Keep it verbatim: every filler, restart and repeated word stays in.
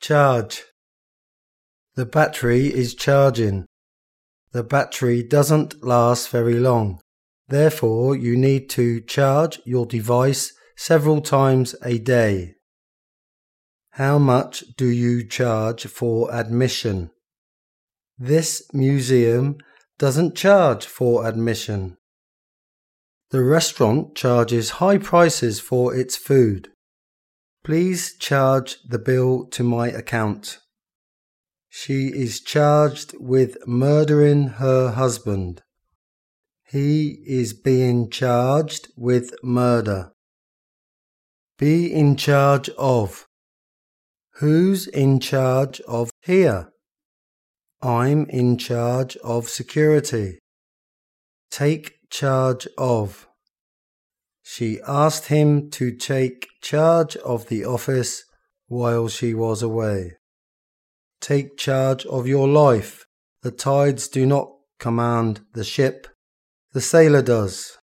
Charge. The battery is charging. The battery doesn't last very long. Therefore, you need to charge your device several times a day. How much do you charge for admission? This museum doesn't charge for admission. The restaurant charges high prices for its food. Please charge the bill to my account. She is charged with murdering her husband. He is being charged with murder. Be in charge of. Who's in charge of here? I'm in charge of security. Take charge of. She asked him to take charge of the office while she was away. Take charge of your life. The tides do not command the ship. The sailor does.